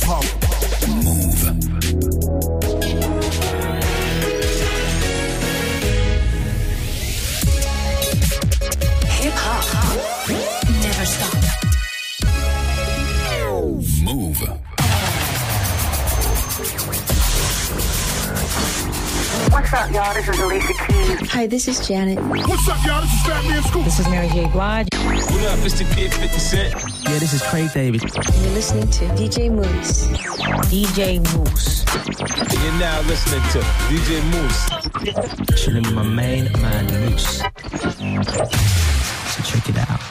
hip-hop. Move. Hip-hop. Never stop. Move. What's up, y'all? This is Alicia Keys. Hi, this is Janet. What's up, y'all? This is Fat Man Scoop. This is Mary J. Blige. What up, Mr. Kid 50 Cent? Yeah, this is Craig David. You're listening to DJ Moose. DJ Moose. You're now listening to DJ Moose. Chilling with my main man, Moose. So check it out.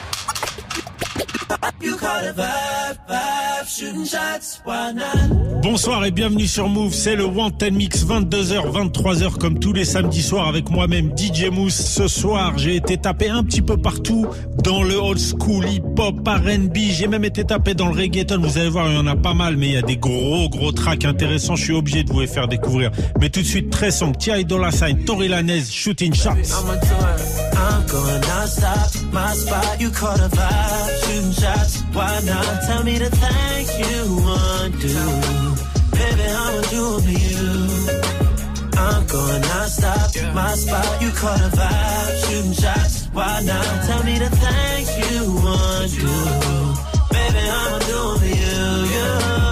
You call it vibe, shooting shots, why not? Bonsoir et bienvenue sur Move, c'est le Wanted Mix 22h, 23h comme tous les samedis soirs avec moi-même DJ Mousse. Ce soir, j'ai été tapé un petit peu partout dans le old school, hip-hop, R&B, j'ai même été tapé dans le reggaeton. Vous allez voir, il y en a pas mal, mais il y a des gros tracks intéressants. Je suis obligé de vous les faire découvrir. Mais tout de suite, très sombre, T.I. Dolla $ign, Tory Lanez, Shooting Shots. I'm going non-stop, my spot, you call the vibe, shooting shots, why not? Tell me the things you want to do, baby, I'ma do it for you. I'm going non-stop, my spot, you call the vibe, shooting shots, why not? Tell me the things you want to do, baby, I'ma do it for you, yeah.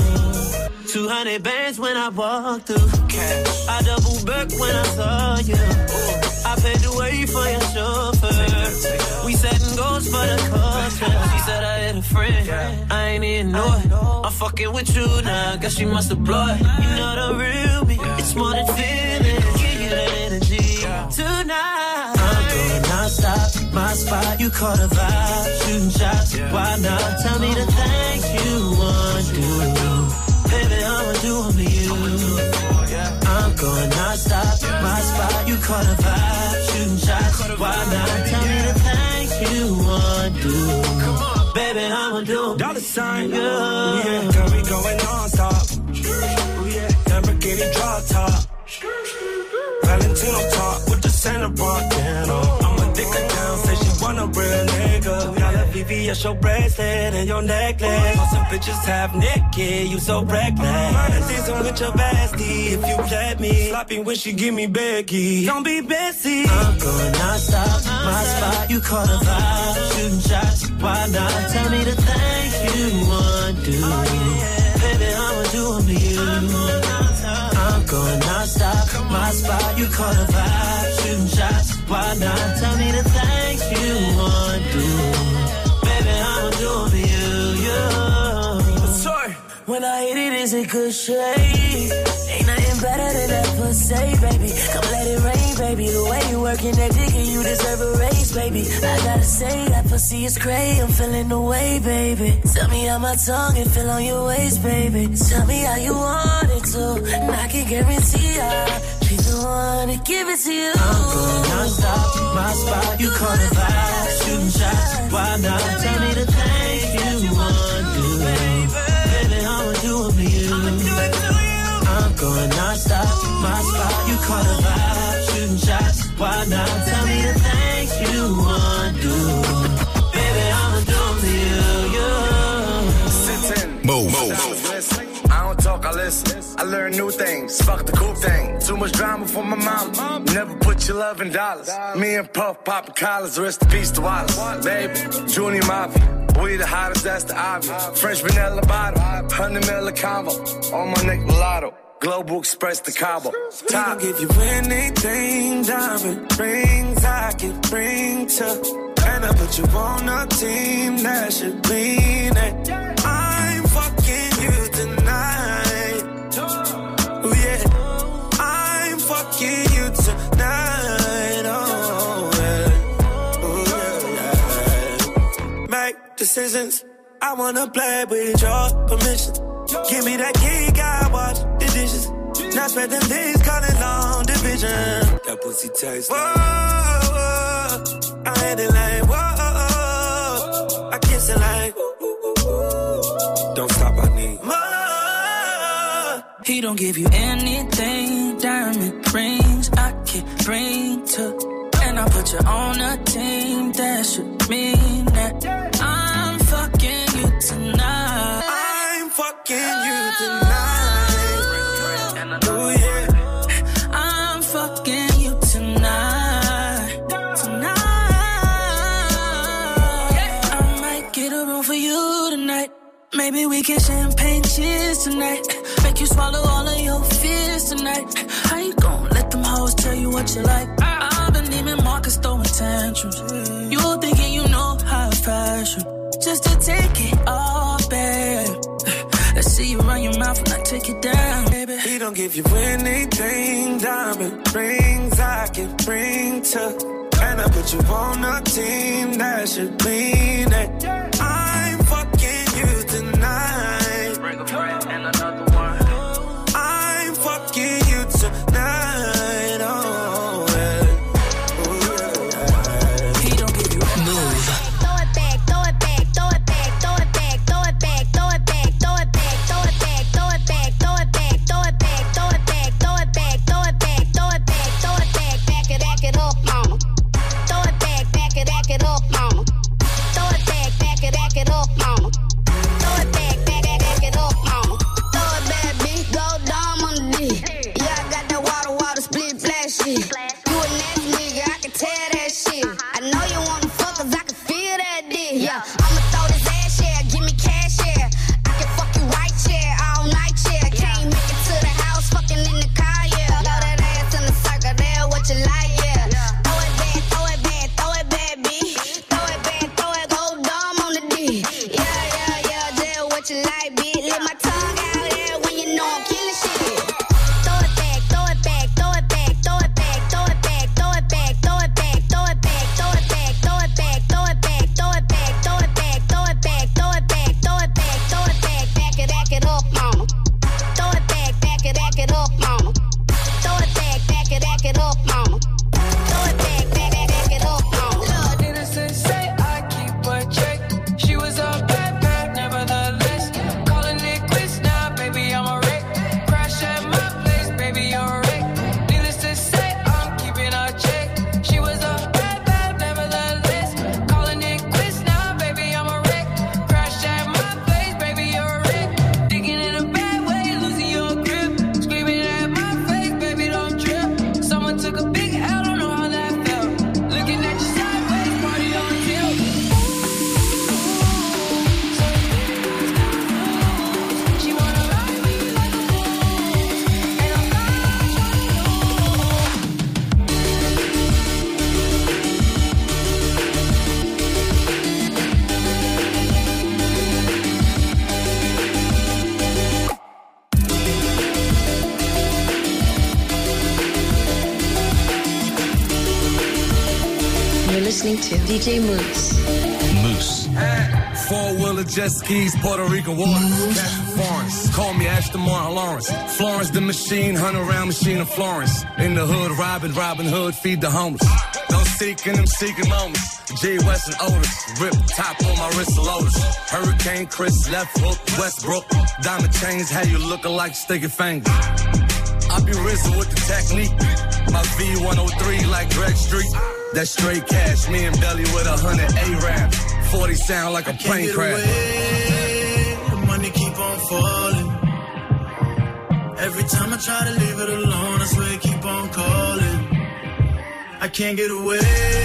200 bands when I walk through, I double back when I saw you. I paid the way for your chauffeur. We setting goals for the culture. She said I had a friend, I ain't even know it. I'm fucking with you now, guess you must have blown it. You know the real me, it's more than feeling. Give you that energy tonight. I'm going non-stop, my spot, you call the vibe. Shooting shots, why not? Tell me the things you want to do, baby, I'ma do it for you. I'm going non-stop, my spot, you call the vibe, shooting shots, why not? Tell me the things you want to do, baby, I'ma do it. Dollar sign, yeah, girl, we going non-stop, yeah, Lamborghini drop top, Valentino top with the Santa rockin' on. I'm a dicker down, say she want a real nigga. Got a VVS, your bracelet and your necklace. All some bitches half naked, you so reckless. Murder season with your bestie, if you let me. Sloppy when she give me Becky, don't be Bessie. I'm going non-stop, my spot, you call the vibe. Shooting shots, why not? Tell me the things you want to do, baby, I'ma do it for you. I'm going non-stop, my spot, you call the vibe. Shooting shots, why not? Tell me the things you want to do, baby, I'ma do it for you, yeah. Sorry. When I hit it, is it good shade? Ain't nothing better than that pussy, baby. Come let it rain, baby. The way you working that dick and you deserve a raise, baby. I gotta say, that pussy is crazy. I'm feeling the way, baby. Tell me how my tongue can feel on your waist, baby. Tell me how you want it to, and I can guarantee I'll be the one to give it to you. I'm going non-stop, my spot, you call the vibe. Shooting shots, why not? Tell me the things you want to do, baby, I'ma do it for you. I'm going non-stop, my spot, you call the vibe. Shooting shots, why not? Tell me the things you want to do, baby, I'ma do it for you, yeah. Sit in. Move. I don't talk, I listen. I learn new things. Fuck the cool thing. Too much drama for my mom. Never put your love in dollars. Me and Puff poppin' collars. Rest in peace to Wallace. Baby, Junior Mafia. We the hottest, that's the obvious. French vanilla bottle. 100 mil a combo. On my neck, mulatto. Global Express to Cabo. Top. Give you anything, diamond rings I can bring to. And I put you on a team that should lean it. I'm fucking you tonight. Oh yeah. I'm fucking you tonight. Oh yeah. Oh yeah. Make decisions. I wanna play with your permission. Give me that key, I watch the dishes. Now spread them things, calling long division. That pussy tastes whoa, whoa, I hit it like, whoa, I kiss it like, don't stop, I need more. He don't give you anything, diamond rings I can bring to. And I put you on a team that should mean that I'm fucking you tonight. I'm fucking you tonight. Oh yeah, I'm fucking you tonight. I might get a room for you tonight. Maybe we can champagne cheers tonight. Make you swallow all of your fears tonight. How you gon' let them hoes tell you what you like? I've been Neiman Marcus throwing tantrums. You thinking you know how fashion, just to take it all back. Let's see you run your mouth when I take it down, baby. He don't give you anything, diamond rings I can bring to. And I put you on a team that should mean it. I'm fucking you tonight. Bring a friend and another one. I'm fucking you tonight. Oh, yeah. Oh, yeah. He don't give you Move. Throw it back, throw it back, throw it back, throw it back, throw it back, throw it back, throw it back, throw it back, throw it back, throw it back, throw it back, throw it back, throw it back, throw it back, throw it back, throw it back, back it up, mama. Throw it back it up, mama. Throw it back it up, mama. Throw it back it up, mama. Throw it back, bitch, go dumb on the D. Yeah, I got that water, split, flash shit. You a nasty nigga, I can tell that shit. I know you wanna fuck 'cause I can feel that dick. Yeah, I'ma throw this ass, yeah, give me cash, yeah. I can fuck you right, yeah, all night, yeah. Can't make it to the house, fucking in the car, yeah. Throw that ass in the circle, there, what you like, yeah. Throw it back, throw it back, throw it back, bitch. Throw it back, go dumb on the D. Yeah, there, what you like, bitch. Let my tongue out there when you know I'm killing shit. Throw it back, throw it back, throw it back, throw it back, throw it back, throw it back, throw it back, throw it back, throw it back, throw it back, throw it back, throw it back, throw it back, throw it back, throw it back, throw it back, throw it back, back it up, mama. Throw it back it up, mama. Throw it back it up, mama. Throw it back it up, mama. innocent, say I keep a check. She was a bad, nevertheless. Calling it quits now, baby, I'm a wreck. Crash at my place, baby, you're a wreck. Needless to say, I'm keeping a check. She was a bad, nevertheless. Calling it quits now, baby, I'm a wreck. Crash at my place, baby, you're a wreck. Thinking in a bad way, losing your grip. Screaming at my face, baby, don't trip. Someone took a big L, don't know how that felt. Looking at you sideways, party on tilt. She wanna ride me like a fool, and I'm not trying to You're listening to DJ Moose. Moose. Four-wheeler, jet skis, Puerto Rican waters, cash from Florence. Call me Ashton Martin Lawrence. Florence the machine, 100-round machine of Florence. In the hood, Robin Hood, feed the homeless. Don't seek in them seeking moments. G. West and Otis, rip top on my wrist of Lotus. Hurricane Chris, left hook, Westbrook. Diamond chains, how you looking like sticky fingers. I be RZA with the technique. My V103 like Greg Street. That straight cash, me and Belly with 100 A-Rap. 40 sound like a plane crash. The money keep on falling. Every time I try to leave it alone, I swear it keep on calling. I can't get away,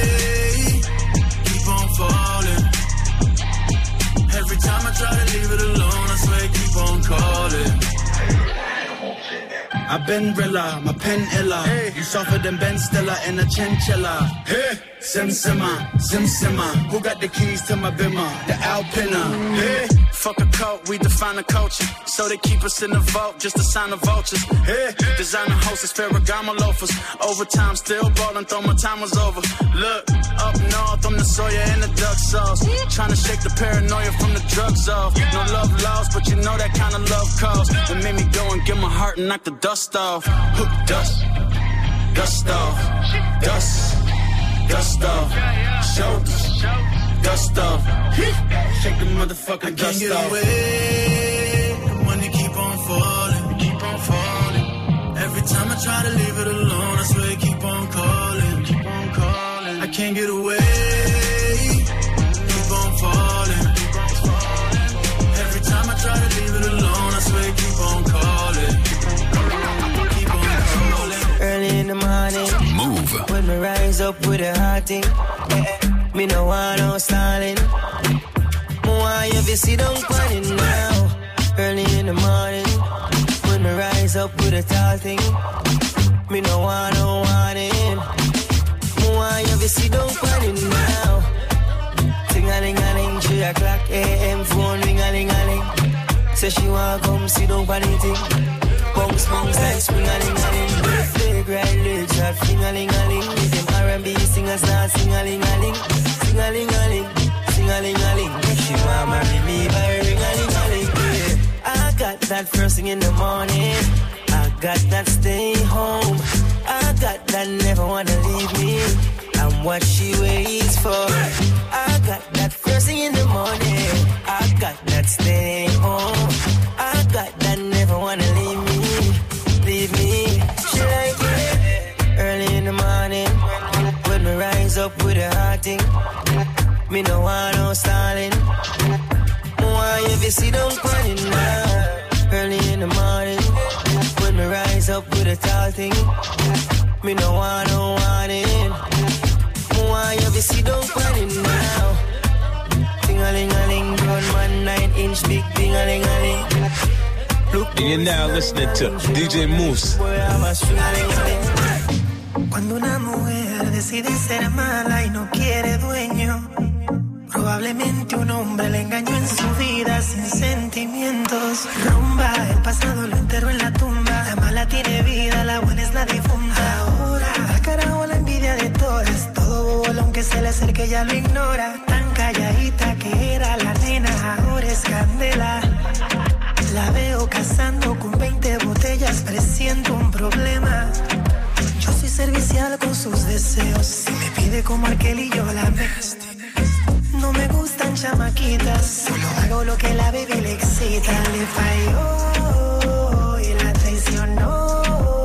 keep on falling. Every time I try to leave it alone, I swear it keep on calling. I've been Rilla, my pen illa. Hey. You softer than Ben Stiller in a chinchilla. Hey. Sim Simmer. Who got the keys to my bimmer? The Alpina. Hey. Fuck a coat, we define the culture. So they keep us in the vault, just to sign the vultures. Hey. Designer hostess, Ferragamo loafers. Overtime, still ballin', thought my time was over. Look, up north, I'm the Sawyer and the duck sauce. Trying to shake the paranoia from the drugs off. No love lost, but you know that kind of love calls. It made me go and get my heart and knock the dust off. Dust off, dust off, shoulders, dust off, shake the motherfucking dust off. I can't get away, money keep on falling. Every time I try to leave it alone, I swear it keep on calling. I can't get away, keep on falling. Every time I try to leave it alone, I swear it keep on up with a hard thing. Me no want no stalling. Why you be sit down on it now? Early in the morning, when me rise up with a tall thing. Me no want no warning. Why you be sit down on it now? Ting-a-ling-a-ling, 3 o'clock a.m. phone ring-a-ling-a-ling. Say she want come sit down on it thing. Bounce, bounce like spring-a-ling-a-ling. Flagrant lyrics that fling-a-ling-a-ling. With them R&B singers now sing-a-ling-a-ling. Sing-a-ling-a-ling, sing-a-ling-a-ling. She want marry me by ring-a-ling-a-ling. Yeah. I got that first thing in the morning. I got that stay home. I got that never wanna leave me. I'm what she waits for. I got that first thing in the morning. I got that stay home. I got that never wanna leave me. Leave me. She like it early in the morning. When me rise up with a hard thing. Me no want no stalling. Why you be sit down on it now? Early in the morning. When me rise up with a tall thing. Me no want no warning. Why you be sit down on it now? Ting-a-ling-a-ling, grown man, 9-inch big ting-a-ling-a-ling. You're now listening to DJ Moose. Cuando una mujer decide ser mala y no quiere dueño, probablemente un hombre le engañó en su vida sin sentimientos. Rumba, el pasado lo enterró en la tumba. La mala tiene vida, la buena es la difunta. Ahora, al carajo la envidia de todas. Todo bobo, aunque se le acerque ya lo ignora. Tan calladita que era la nena, ahora es candela. La veo cazando con 20 botellas, presiento un problema. Yo soy servicial con sus deseos. Si me pide como aquel y yo la mezclo. No me gustan chamaquitas, solo hago lo que la baby le excita. Le falló y la traicionó.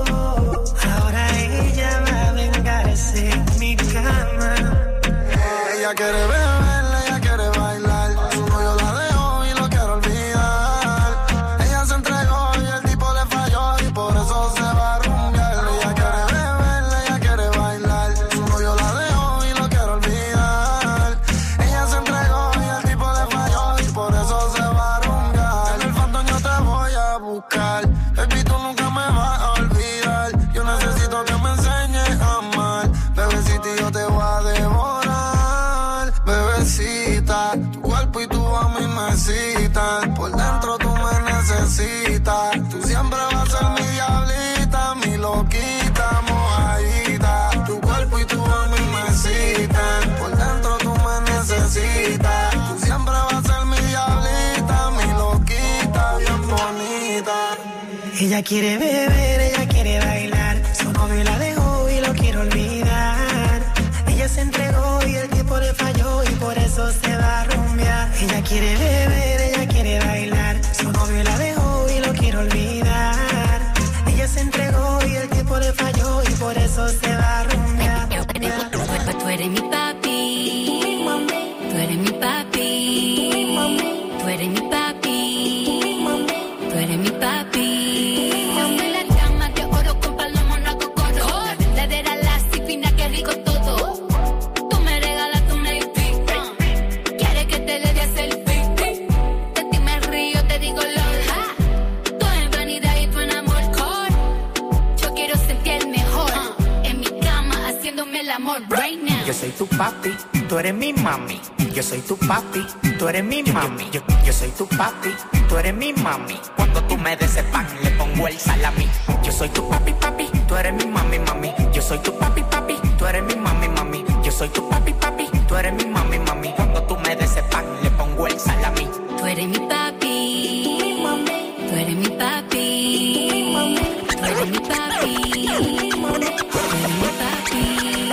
Ahora ella va a vengarse en mi cama. Ella quiere beber, ella quiere bailar. Su novio la dejó y lo quiere olvidar. Ella se entregó y el tipo le falló y por eso se va a rumbear. Ella quiere beber, ella quiere bailar. Su novio la dejó y lo quiere olvidar. Ella se entregó y el tipo le falló y por eso se va a rumbear. En el fondo yo te voy a buscar. Baby, tú nunca me vas a olvidar. Yo necesito que me enseñes a amar. Bebecita, yo te voy a devorar. Bebecita, tu cuerpo y tu a mí me citan. Por dentro tú me necesitas. Tú siempre vas a ser mi diablita, mi loquita, mojadita. Tu cuerpo y tu a mí me citan. Por dentro tú me necesitas. Tú siempre vas a ser mi diablita, mi loquita, bien bonita. Ella quiere beber, ella quiere bailar. Su novio la dejó y lo quiere olvidar. Ella se entregó y el tipo le falló y por eso se va a rumbear. Ella quiere beber, ella quiere bailar. Su novio la dejó y lo quiere olvidar. Ella se entregó y el tipo le falló y por eso se va a rumbear. Tú eres mi papi. Tú eres mi papi. Tú eres mi papi. Tú eres mi papi. Soy la llama de oro con palomo, no hago coro. La verdadera lassi fina, que rico todo. Tú me regalas tu navy. Quieres que te le dé selfie. De ti me río, te digo lola. Tú en vanidad y tú en amor. Yo quiero sentir el mejor. En mi cama haciéndome el amor right now. Yo soy tu papi, tú eres mi mami. Yo soy tu papi, tú eres mi mami. Yo soy tu papi, tú eres mi mami. Cuando tú me des el pan, le pongo el salami. Yo soy tu papi, papi, tú eres mi mami, mami. Yo soy tu papi, papi, tú eres mi mami, mami. Yo soy tu papi, papi, tú eres mi mami, mami. Cuando tú me des el pan, le pongo el salami. Tú eres mi papi. Tú eres mi papi. Tú eres mi papi. Tú eres mi papi.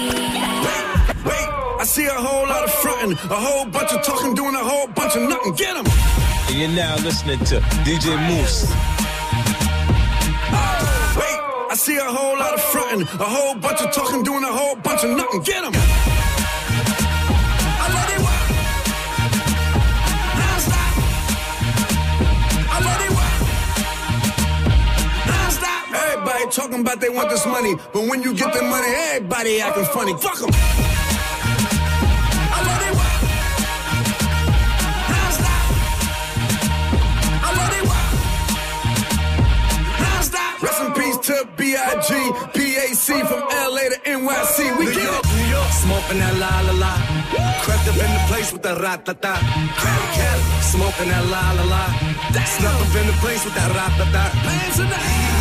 I see a whole lot of frontin', a whole bunch of talking, doing a whole bunch of nothing. Get 'em! You're now listening to DJ Moose. Wait, I see a whole lot of frontin', a whole bunch of talking, doing a whole bunch of nothing. Get 'em! I let it work. Non-stop. I let it work. Non-stop. Everybody talking about they want this money, but when you get the money, everybody acting funny. Fuck them. Rest in peace to B.I.G. PAC from LA to NYC. We get it. New York, smoking that la la la. Crept up in the place with that rat-ta-ta. Cali, Cali, smoking that la la la. Snuck up in the place with that rat-ta-ta. Hands in the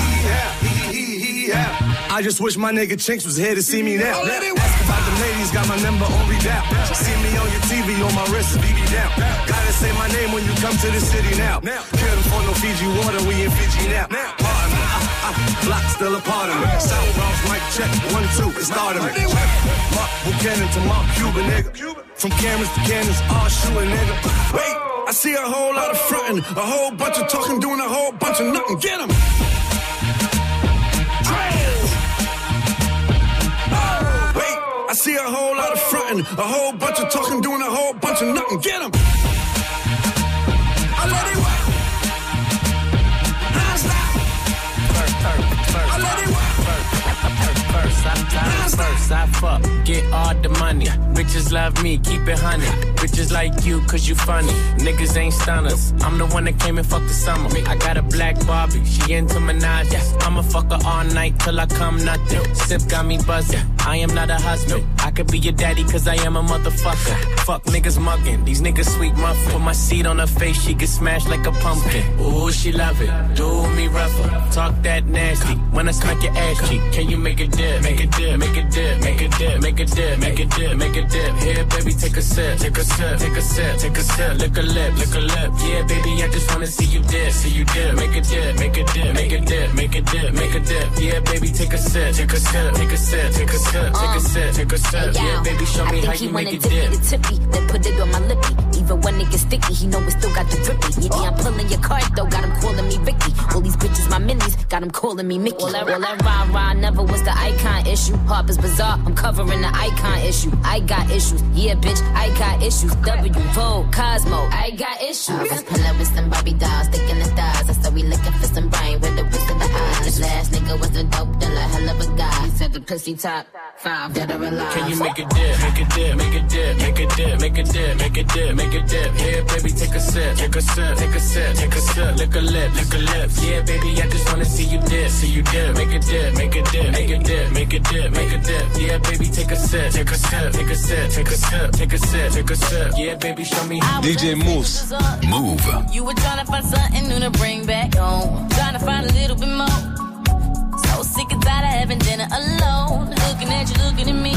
yeah. I just wish my nigga Chinks was here to see me now. Ask about the ladies, got my number on redap. See me on your TV, on my wrist, BB down. Gotta say my name when you come to the city now. Couldn't for no Fiji water, we in Fiji now. Pardon me, Block still a part of me. South Bronx, mic check, 1, 2, it started me. Mark Buchanan to Mark Cuban, nigga. From cameras to cannons, all shooting, nigga. Wait, I see a whole lot of frontin', a whole bunch of talking, doing a whole bunch of nothing. Get 'em. I see a whole lot of frontin', a whole bunch of talking, doing a whole bunch of nothing. Get 'em. I let it work. First, I fuck, get all the money. Bitches love me, keep it honey. Bitches like you, cause you funny. Niggas ain't stunners. I'm the one that came and fucked the summer. I got a black Barbie, she into Minaj. I'ma fuck her all night till I come nothing. Sip got me buzzing, I am not a husband. I could be your daddy cause I am a motherfucker. Fuck niggas mugging, these niggas sweet muffin. Put my seed on her face, she get smashed like a pumpkin. Ooh, she love it, do me rougher. Talk that nasty, when I smack your ass cheek. Can you make it dip, make it dip, make it dip, make it dip, make it dip, make it dip, make it dip. Here, baby, take a sip, take a sip, take a sip, take a sip. Lick a lip, lick a lip. Yeah, baby, I just wanna see you dip, see you dip. Make it dip, make it dip, make it dip, make it dip, make it dip. Yeah, baby, take a sip, take a sip, take a sip, take a sip, take a sip, take a sip. Yeah, baby, show me how you make it dip. The tippy, then put it on my lippy. Even when it gets sticky, he know it still got the drippy. Yeah, I'm pulling your card though, got him calling me Ricky. All these bitches my minis, got him calling me Mickey. All that rah-rah never was the icon issue. Harper's Bazaar, I'm covering the icon issue. I got issues, yeah bitch, I got issues. W, Vogue, Cosmo, I got issues. I was pulling with some Barbie dolls, sticking the stars. I said we looking for some brain with the whisk of the eyes. This last nigga was a dope dealer, hell of a guy. He said the pussy top 5, dead or alive. Can you make it dip, make it dip, make it dip, make it dip, make it dip, make it dip, make it dip. Here, baby, take a sip, take a sip, take a sip, take a sip. Lick a lip, lick a lip. Yeah, baby, I just wanna see you dip, see you dip. Make it dip, make it dip, make it dip, make it dip, make it dip. Yeah, baby, take a sip, take a sip, take a sip, take a sip, take a sip, take a sip. Yeah, baby, show me how. DJ Mouss. Move. You were trying to find something new to bring back home. Trying to find a little bit more. So sick and tired of having dinner alone. Looking at you, looking at me.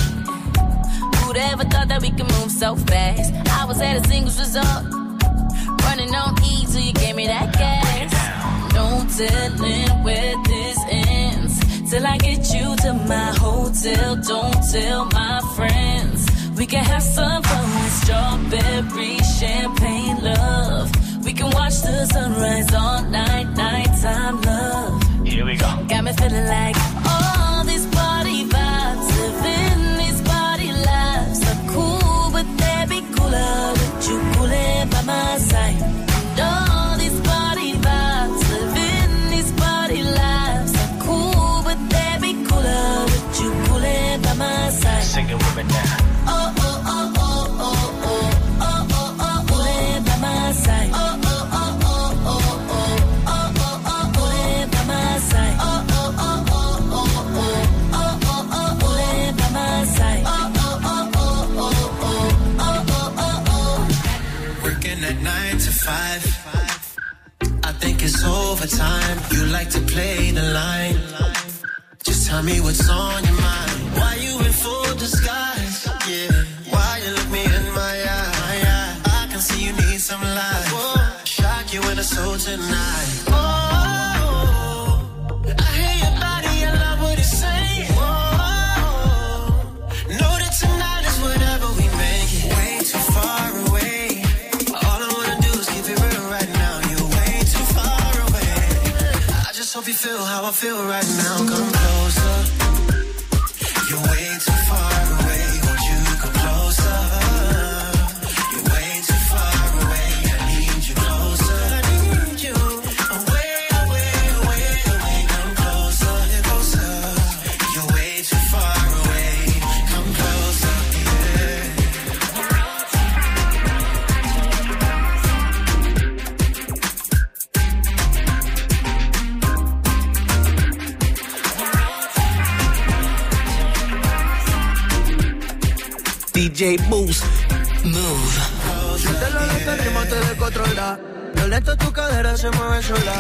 Who'd ever thought that we could move so fast? I was at a singles resort. Running on E till you gave me that gas. No telling where this ends. Till I get you to my hotel. Don't tell my friends. We can have some fun with strawberry champagne love. We can watch the sunrise all night, nighttime love. Here we go. Got me feeling like all these party vibes, living these party lives are cool, but they'd be cooler with you coolin' by my side. And all these party vibes, living these party lives are cool, but they'd be cooler with you coolin' by my side. Sing it with me now. Oh, oh, oh, oh, oh, oh, oh, oh, oh, coolin' by my side. Oh, oh, oh, oh, oh, oh, oh, oh, oh, coolin' by my side. Oh, oh, oh, oh, oh, oh, oh, oh, oh, coolin' by my side. Oh, oh, oh, oh, oh, oh, oh, oh, oh. Working at 9 to 5. I think it's overtime. You like to play the line. Just tell me what's on your mind. Why you in full disguise? Yeah. Why you look me in my eye? I can see you need some light. Shock you in a soul tonight. Oh, I hear your body, I love what it's saying. Oh, know that tonight is whatever we make it. Way too far away. All I wanna do is keep it real right now. You're way too far away. I just hope you feel how I feel right now. Come closer. You're way too far away. Won't you come closer? You're way too far away. I need you closer. I need you. Away, away, away, away. Come closer. You're closer. DJ Moose. Move. Si te lo dejo, el ritmo te descontrola. Violento tu cadera se mueve sola.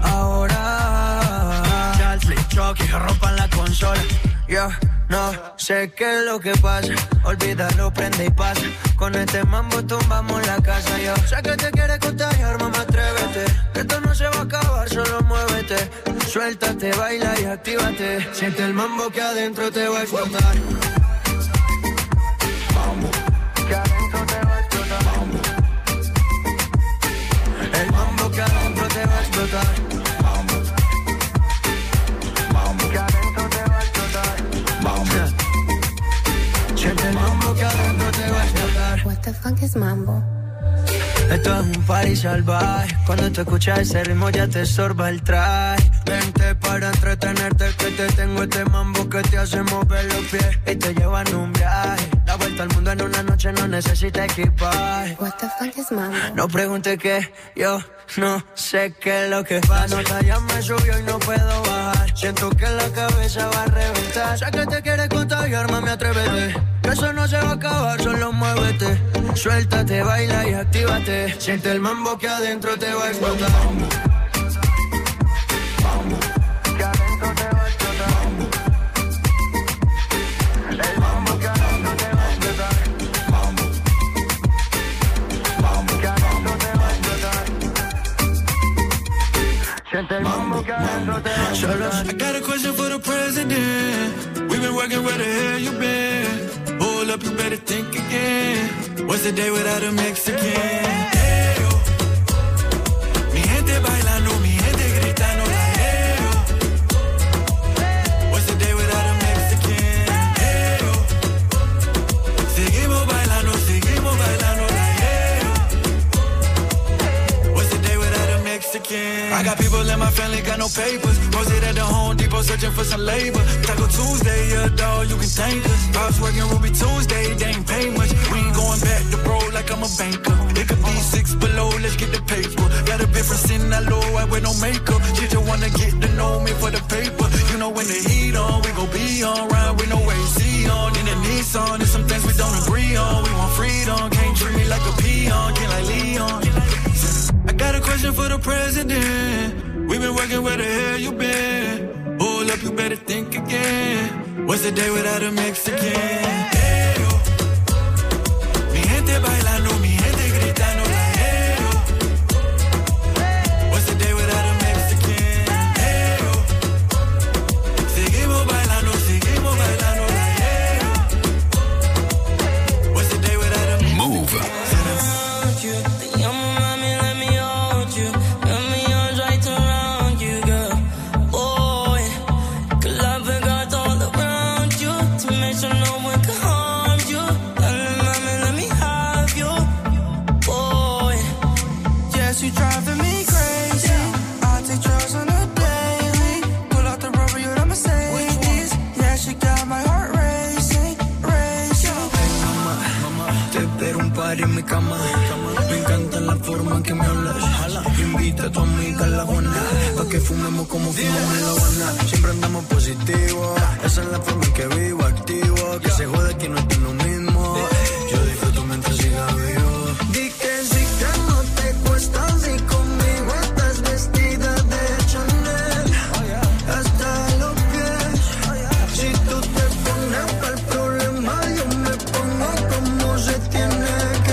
Ahora ya el flip truck y rompan la consola. Yo no sé qué es lo que pasa. Olvídalo, prende y pasa. Con este mambo tumbamos la casa. Yo sé que te quieres contagiar, mamá, atrévete. Que esto no se va a acabar, solo muévete. Suéltate, baila y actívate. Siente el mambo que adentro te va a explotar. Mambo. Que adentro te va a explotar. Mambo. El mambo que adentro te va a explotar. Mambo. Mambo. Que adentro te va a explotar. Mambo. Siente el mambo que adentro te va a explotar. What the fuck is mambo? Esto es un party salvaje. Cuando tú escuchas ese ritmo ya te sorba el traje. Vente para entretenerte, que te tengo este mambo que te hace mover los pies y te lleva en un viaje. La vuelta al mundo en una noche no necesita equipaje. What the fuck is mambo? No pregunte qué, yo no sé qué es lo que pasa. La nota ya me subió y no puedo bajar. Siento que la cabeza va a reventar. Sé que te quieres contagiar, mami, atrévete. Que eso no se va a acabar, solo muévete. Suéltate, baila y actívate. Siente el mambo que adentro te va a explotar. Mambo. Mambo. Que adentro te va a explotar. Mambo. El mambo que adentro te va a explotar. Mambo. Mambo. Que adentro te va a explotar. Siente el mambo que adentro te va a explotar. I got a question for the president. We've been working, where the hell you been? Hold up, you better think again. What's the day without a Mexican? Hey, oh. Mi gente bailando, mi gente gritando, like, hey, oh. What's the day without a Mexican? Hey, oh. Seguimos bailando, like, hey, oh. What's the day without a Mexican? I got people in my family, got no papers. Posted at the Home Depot, searching for some labor. Taco Tuesday, yeah, dog, you can thank us. I was working Ruby Tuesday, they ain't pay much. We ain't going back to bro like I'm a banker. It could be 6 below, let's get the paper. Got a difference in that low, I wear no makeup. She just wanna get to know me for the paper. You know when the heat on, we gon' be on. Ride with no AC on, in a Nissan. There's some things we don't agree on. We want freedom, can't treat me like a peon. Can't like Leon. I got a question for the president. We've been working, where the hell you been? Hold up, you better think again. What's the day without a Mexican? Hey, oh. Mi gente bailando, mi gente gritando, like, hey, oh. What's the day without a Mexican? Hey, oh. Seguimos bailando, like, hey, oh. What's the day without a Mexican? Move. En mi cama, me encanta la forma en que me hablas. Invita a tu amiga a la Juana, pa' que fumemos como fumamos en La Habana. Siempre andamos positivos, esa es la forma en que vivo, activo. Que se jode que no es lo mismo. Yo disfruto mientras siga vivo. Di que sí que no te cuesta, si conmigo estás vestida de Chanel. Hasta los pies. Si tú te pones para el problema, yo me pongo como se tiene.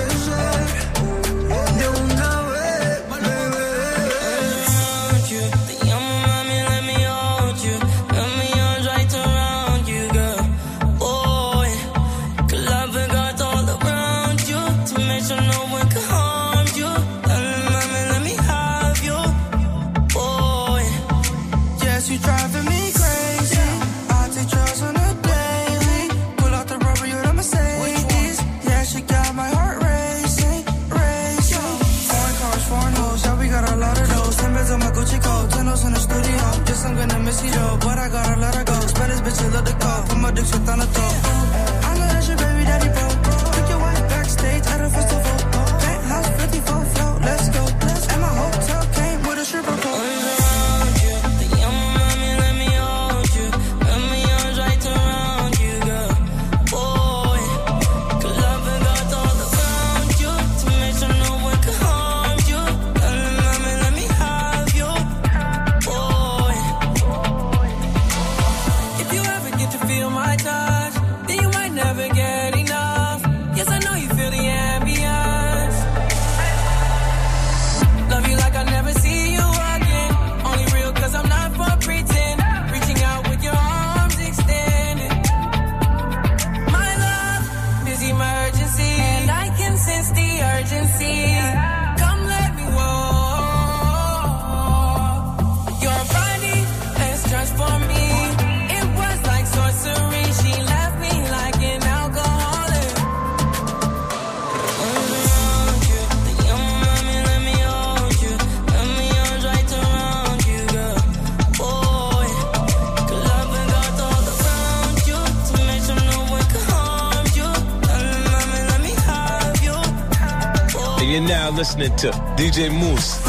But I gotta let her go. Spanish bitches love the call. Put my dick shit on the top. I know that's your baby daddy, bro. Took your wife backstage at a festival. Penthouse 54 float, let's go. And my hotel came with a stripper pole. Love listening to DJ Moose.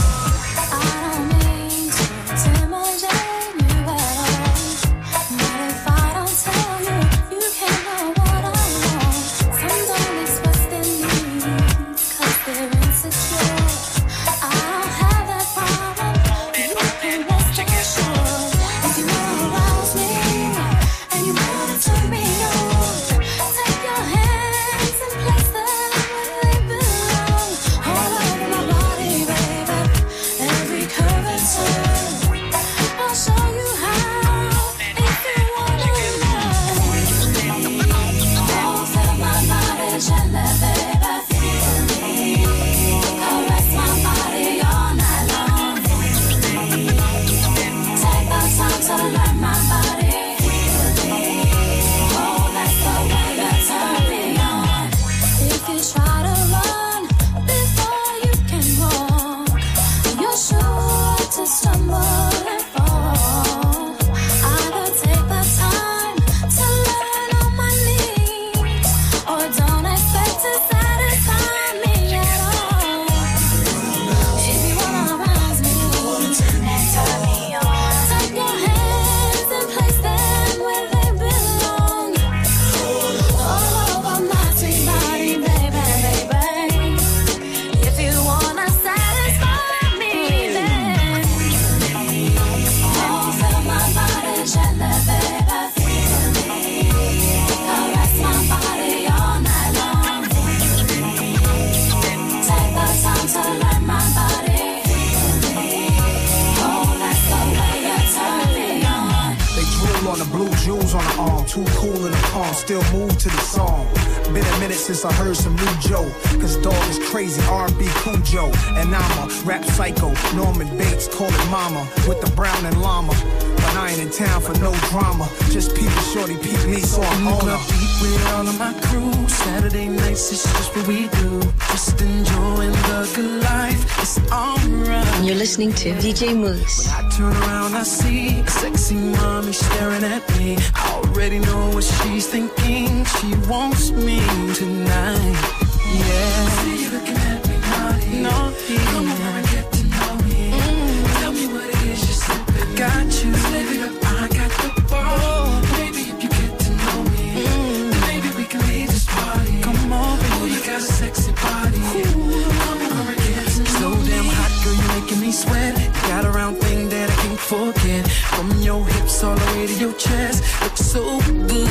Still move to the song. Been a minute since I heard some new Joe. Cause dog is crazy, R&B Cujo. And I'm a rap psycho. Norman Bates, call it mama. With the brown and llama. But I ain't in town for no drama. Just people shorty peep me, so I'm on her. Beat with all of my crew. Saturday nights, it's just what we do. Just enjoying the good life. It's alright. You're listening to DJ Moose. When I turn around, I see a sexy mommy staring at me. I already know what she's thinking. She wants me tonight. Yeah. See you looking at me naughty. Naughty. Come over and get to know me. Tell me what it is you're slipping. Got you. Slip it up, I got the ball. Maybe if you get to know me, then maybe we can leave this party. Come on, baby. Oh, you got a sexy body. Come over and get to know me. So damn hot, girl, you making me sweat. Got a round thing that I can't forget. From your hips all the way to your chest, looks so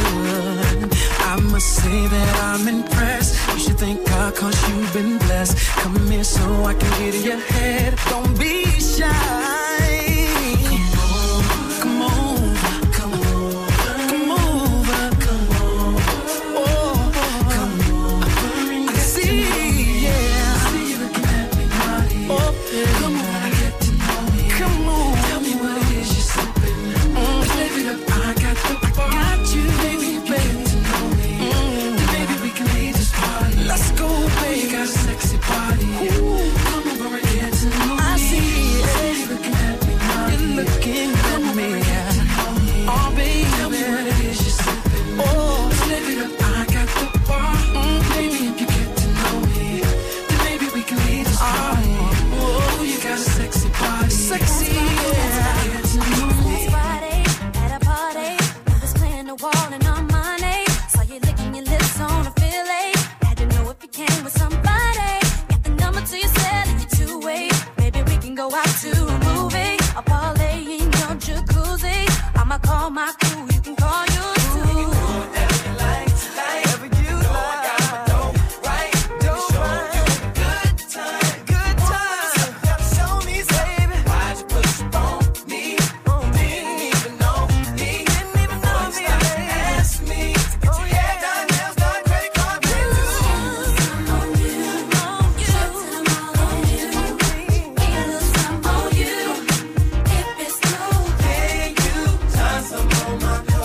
good. I must say that I'm impressed. You should thank God 'cause you've been blessed. Come here so I can get in your head. Don't be shy. Come on, come on, come over, come on, oh, come on. I see, yeah. I see you looking at me naughty. Oh, yeah. Come on, I get to know me. Come on, tell me what it is you're slipping. Live it up, I got the ball. Got you, baby, baby. Baby, we can leave this party. Let's go, baby. You got a sexy body. Come over and get to know me. I see it. You're looking at me naughty. You're looking at me. Oh, baby, tell me what it is you're slipping. Oh, live it up, I got the bar. Baby, if you get to know me, then maybe we can leave this party. Oh, you got a sexy body. Sexy, yeah. Last Friday at a party, I was playing the wall and on my name. Saw you licking your lips on a fillet. Had to know if you came with somebody. Got the number to your cell and your two-way. Maybe we can go out to a movie. A parlay in your jacuzzi. I'ma call my crew, you can call yours too. Whatever you like, whatever you like. I got my dope right. Dope right. Good time, good time. Show me, baby. Why'd you push on me? Didn't even know me. Didn't even know me. Ask me. Oh yeah, got nails, got credit card bills. On you, on you, on you. Feel some on you. If it's true, can you turn some on my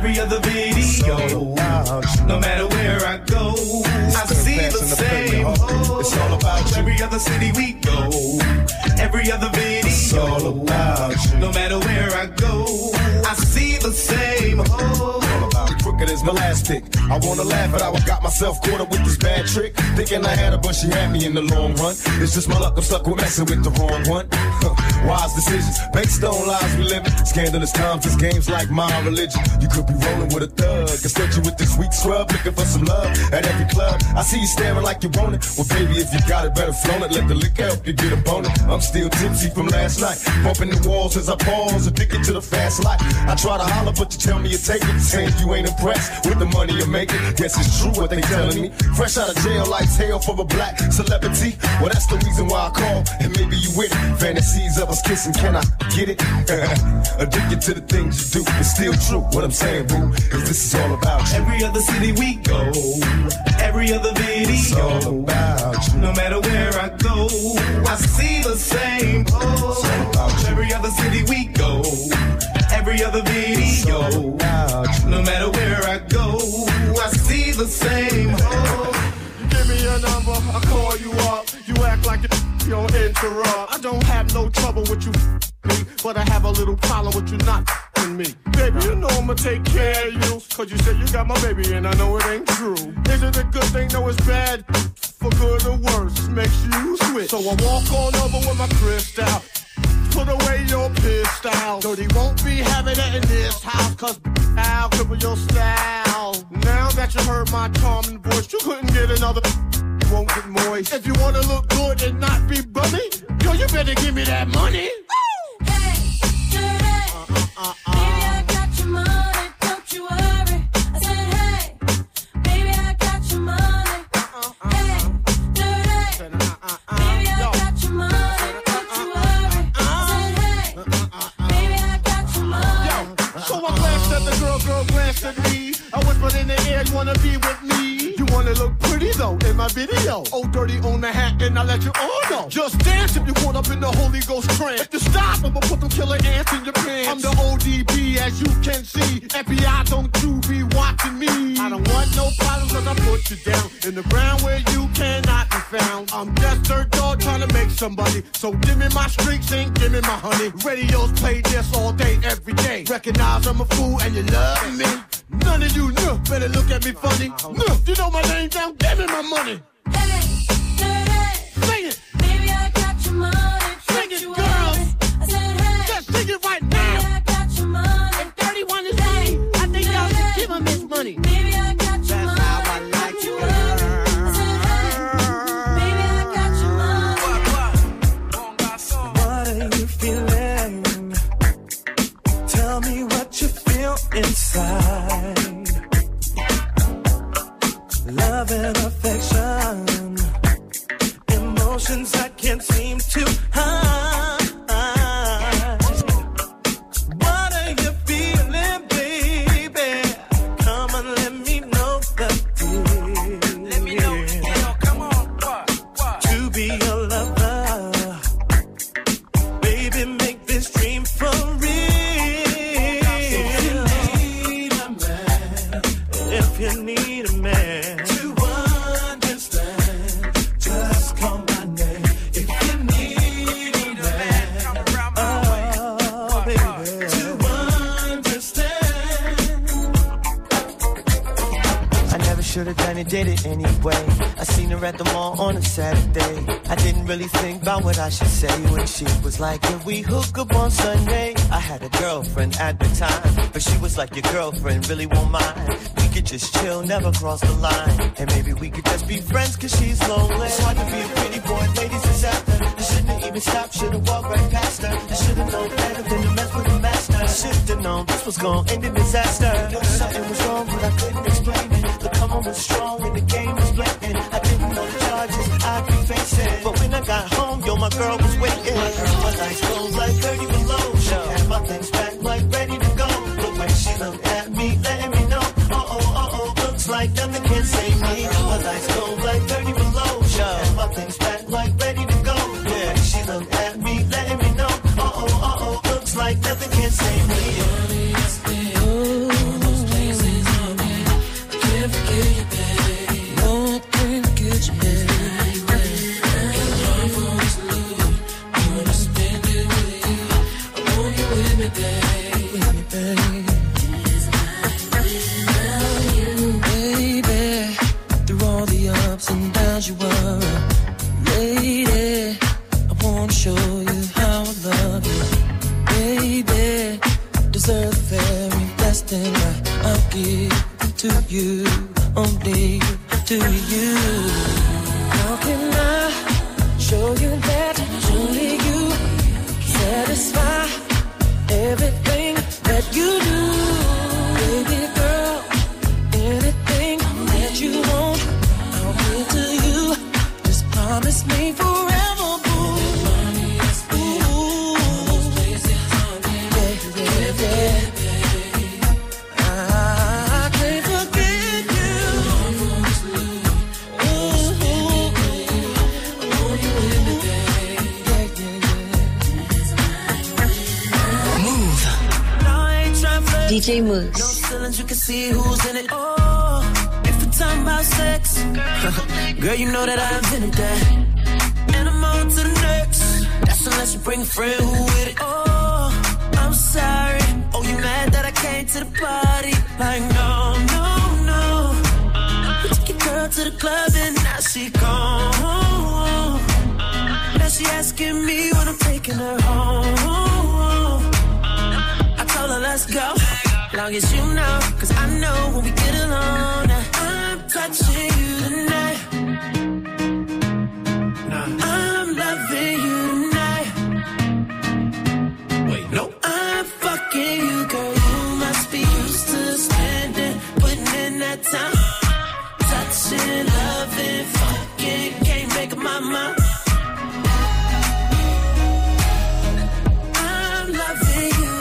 every other video. No matter where I go, I see the same. It's all about you. Every other city we go, every other video. It's all about you. No matter where I go, I see the same. Crooked as my last pick. I wanna laugh, but I got myself caught up with this bad trick. Thinking I had her, but she had me in the long run. It's just my luck, I'm stuck with messing with the wrong one. Wise decisions, based on lies we live in. Scandalous times, this game's like my religion. You could be rolling with a thug, instead you with this weak scrub, looking for some love at every club. I see you staring like you want it. Well, baby, if you got it, better flown it. Let the liquor help you get a bonus. I'm still tipsy from last night, bumping the walls as I pause, addicted to the fast life. I try to holler, but you tell me you take it. Saying you ain't impressed with the money you're making. Guess it's true what they telling me. Fresh out of jail, life's hell for a black celebrity. Well, that's the reason why I call, and maybe you with it. Fantasies of us kissing, can I get it? Addicted to the things you do, it's still true. What I'm saying, boo, is this is all about you. Every other city we go, every other video. It's all about you. No matter where I go, I see the same. It's all about you. Every other city we go, every other video. It's all about you. No matter where I go, I see the same. You give me your number, I call you up. You act like you don't interrupt. I don't have no trouble with you, me, but I have a little problem with you not me. Baby, you know I'ma take care of you, cause you said you got my baby and I know it ain't true. Is it a good thing? No, it's bad. For good or worse, makes you switch. So I walk on over with my crystal. Put away your pistol. Dirty won't be having it in this house, cause I'll cripple your style. Now that you heard my charming voice, you couldn't get another. You won't get moist. If you wanna look good and not be bummy, yo, you better give me that money. Baby, I got your money, don't you worry. I said, hey, baby, I got your money. Hey, dirty. Baby, I got your money, don't you worry. I said, hey, baby, I got your money. Yo, so I glanced at the girl glanced at me. I whispered in the air, you wanna be with me? You wanna look pretty though in my video. Oh, dirty on the hat, and I'll let you all know. Just dance if you caught up in the Holy Ghost trance. If you stop, I'ma put them killer ants in your pants. I'm the ODB, as you can see. FBI, don't you be watching me. I don't want no problems, cause I put you down in the ground where you cannot be found. I'm just dirt dog trying to make somebody. So give me my streaks and give me my honey. Radios play this all day, every day. Recognize I'm a fool and you love me. None of you better look at me funny. You know my name down, give me my money. Hey, dirty. Sing it. Baby, I got your money. Sing it, girls. I said, hey. Just sing it right now. Baby, I got your money. And 31 is me. I think y'all should give him his money. Baby, I got your That's money. how I like Don't you, you worry. I said, hey. Baby, I got your money. What are you feeling? Tell me what you feel inside. Love and affection, emotions I can't seem to hide. What are you feeling, baby? Come on, let me know the deal. Let me know, come on, what? To be your lover, baby, make this dream for real. If you need a man to understand, just call my name. If you need a man, oh baby, to understand. I never should have done it, did it anyway. I seen her at the mall on a Saturday. I didn't really think about what I should say when she was like, "Can we hook up on Sunday?" I had a girlfriend at the time, but she was like, "Your girlfriend really won't mind. We could just chill, never cross the line. And maybe we could just be friends cause she's lonely." It's hard to be a pretty boy, ladies is after. I shouldn't even stop, should've walked right past her. I should've known better than to mess with a master. I should've known this was gonna end in disaster. Knew something was wrong but I couldn't explain it. The come on was strong and the game was blatant. I didn't know the charges I'd be facing. But when I got home, yo, my girl was waiting. My lights closed like 30 below. She had my things back like ready to go. But when she looked at me, letting me know, looks like nothing can save me. My lights go like 30 below. She had my things back like ready to go. Yeah, she looked at me, letting me know, looks like nothing can save me. worry. Lady, I wanna show you how I love you. Baby, deserve the very best thing I'll give to you, only to you. How can I show you that only you satisfy everything that you do? Baby girl, anything that you want, I'll give to you. Just promise me forever, boo. Ooh, yeah, yeah, yeah. I can't forget you. Move. DJ Moose. No ceilings, you can see who's in it. Oh, if we're talking about sex, girl, you know that I invented that. And I'm on to the next. That's unless you bring a friend who with it. Oh, I'm sorry. Oh, you mad that I came to the party? Like, no, no, no. We took your girl to the club and now she gone. Now she asking me when I'm taking her home. I told her let's go, long as you know, cause I know when we get alone, I'm touching you tonight. I'm loving you tonight. Wait, no, I'm fucking you, girl. You must be used to spending, putting in that time, touching, loving, fucking, can't make up my mind. I'm loving you.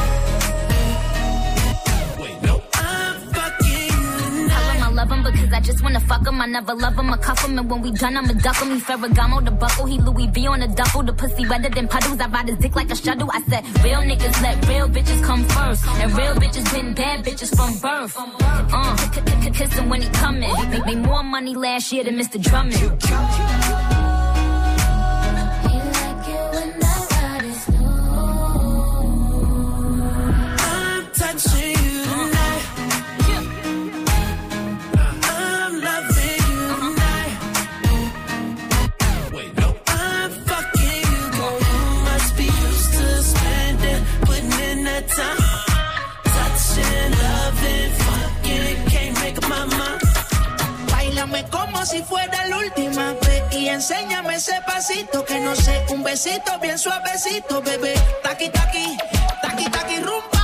Wait, no, I'm fucking you tonight. I love him because I just wanna fuck him. I never love him, I cuff him, and when we done, I'ma duck him. He Ferragamo the buckle, he Louis V on the duffel. The pussy wetter than puddles. I ride his dick like a shuttle. I said, real niggas let real bitches come first, and real bitches been bad bitches from birth. Kiss him when he coming. Made more money last year than Mr. Drummond. Como si fuera la última vez y enséñame ese pasito que no sé, un besito bien suavecito, bebé. Taqui taqui, taqui taqui rumba.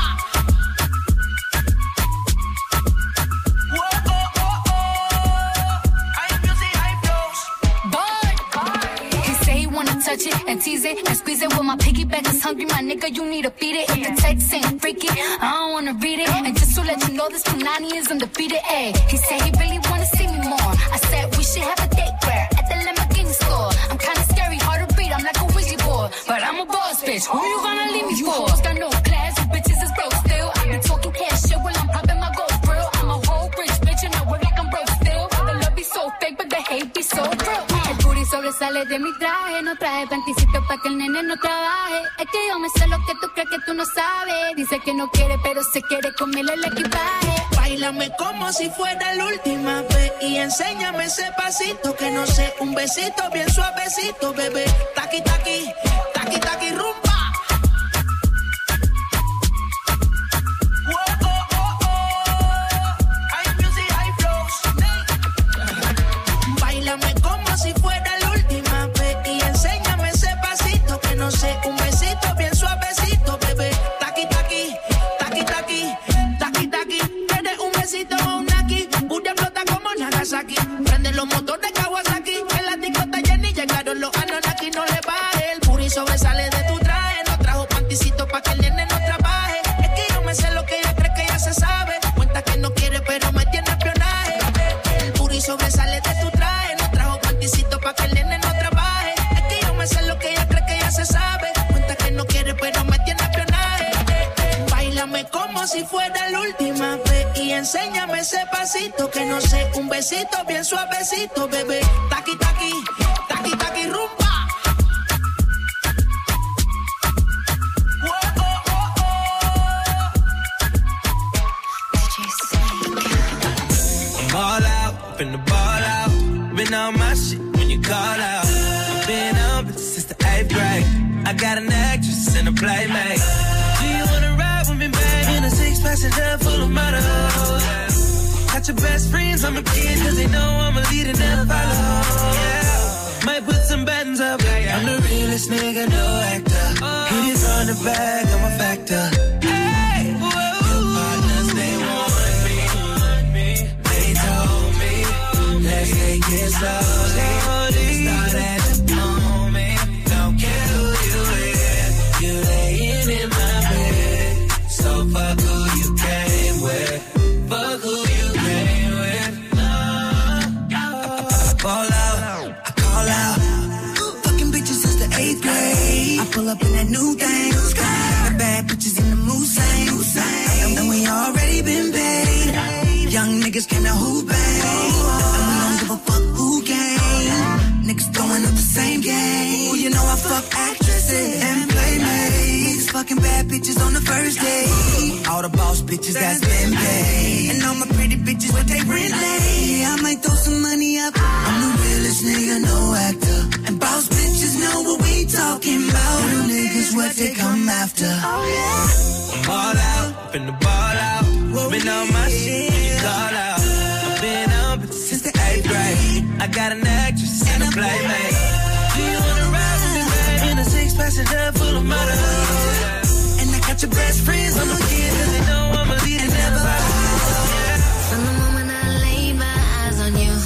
Touch it and tease it and squeeze it with my piggyback is hungry, my nigga, you need to feed it. If the text ain't freaky, I don't wanna read it. And just to let you know, this Punani is undefeated, ayy. He said he really wanna see me more. I said we should have a date where at the Lamborghini store. I'm kinda scary, hard to read, I'm like a Ouija board, but I'm a boss bitch. Who you gonna leave me for? You hoes got no class, you bitches is broke still. I be talking cash shit while I'm popping my gold grill. I'm a whole rich bitch and I work like I'm broke still. The love be so fake, but the hate be so real. Sobresale de mi traje, no traje panticito pa' que el nene no trabaje. Es que yo me sé lo que tú crees que tú no sabes. Dice que no quiere, pero se quiere comerle el equipaje. Báilame como si fuera la última vez y enséñame ese pasito que no sé, un besito bien suavecito, bebé. Taqui taqui, taqui taqui rumba. Báilame como si fuera la última vez y enséñame ese pasito que no sé, un besito bien suavecito, bebé. Taqui taqui, taqui taqui, taqui taqui. Tienes un besito o un aquí, Buria flota como Nagasaki. Prende los motores Kawasaki, en la discota Jenny llegaron los Anunnaki. No le baje, el puri sobresale de tu traje. No trajo panticito pa' que el nene no trabaje. Es que yo me sé lo que ella cree que ya se sabe. Cuenta que no quiere pero me tiene espionaje. El puri sobresale de tu traje. No trajo panticito pa' que el nene no trabaje. Es que yo me sé lo que ella cree que ya se sabe. Cuenta que no quiere pero me tiene espionaje. Báilame como si fuera la última vez y enséñame ese pasito que no sé, un besito bien suavecito, bebé. Taqui taqui, taqui taqui rumba. Ball out, finna ball out. Been on my shit, call out. I've been on bitches since the 8th grade. I got an actress and a playmate. Do you wanna ride with me, babe? In a 6-passenger full of models. Got your best friends on my kid, cause they know I'm a leader and never follow. Yeah. Might put some buttons up. I'm the realest nigga, no actor. Hit it from the back, I'm a factor. Hey, whoa. Your partners, they want me. They told me, let's take it slowly. Start at the moment. Don't care who you with. You laying in my bed. So fuck who you came with. Fuck who you came with. I ball out, I call out. Fucking bitches since the 8th grade. I pull up in that new thing. The bad bitches in the Moussain. And we already been paid. Young niggas came to who bang. And we don't give a fuck who game. Niggas throwing up the same game. Well, you know I fuck actresses and playmates. Fucking bad bitches on the first day. All the boss bitches that's been paid. And all my pretty bitches with they rent late. I might throw some money up. I'm the realest nigga, no actor. And boss bitches know what we talking about. Real niggas what they come after. Oh yeah. I'm all out, finna ball out. Been on my shit, you call out. I've been on bitches since the 8th grade. I got an actress and a playmate. Do you wanna ride with me, babe? In a 6-passenger full of models. And I got your best friends on the kid, cause they know I'm a leader, never follow. From the moment I laid my eyes on you,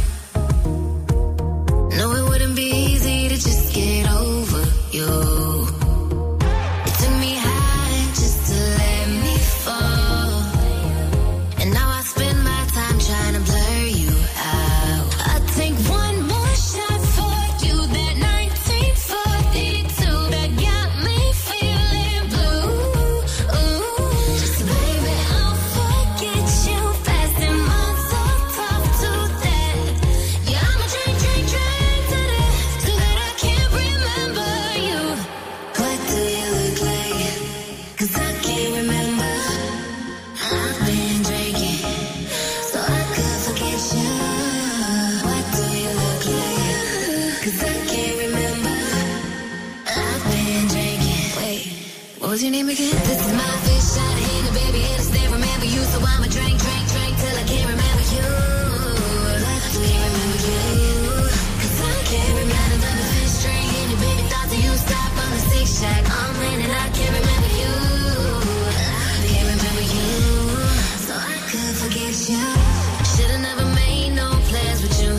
no, it wouldn't be easy to just get over you. It took me high just to let me fall. And now I spend my time trying to blur you out. I take one more shot for you, that 1942 that got me feeling blue. Just baby, I'll forget you fast and my so tough to that. Yeah, I'ma drink to that, so that I can't remember you. What do you look like? Cause I can't remember. I've been drinking, so I could forget you. What do you look like? Cause I can't remember. I've been drinking. Wait, what was your name again? This is my fish shot in the baby, and I still remember you. So I'ma drink till I can't remember you. What do you remember you? Cause I can't remember the fish string in your baby thoughts that you stop on the 6-shack. I'm in and I can't remember you. I can't remember you. So I could forget you. Should've never made no plans with you.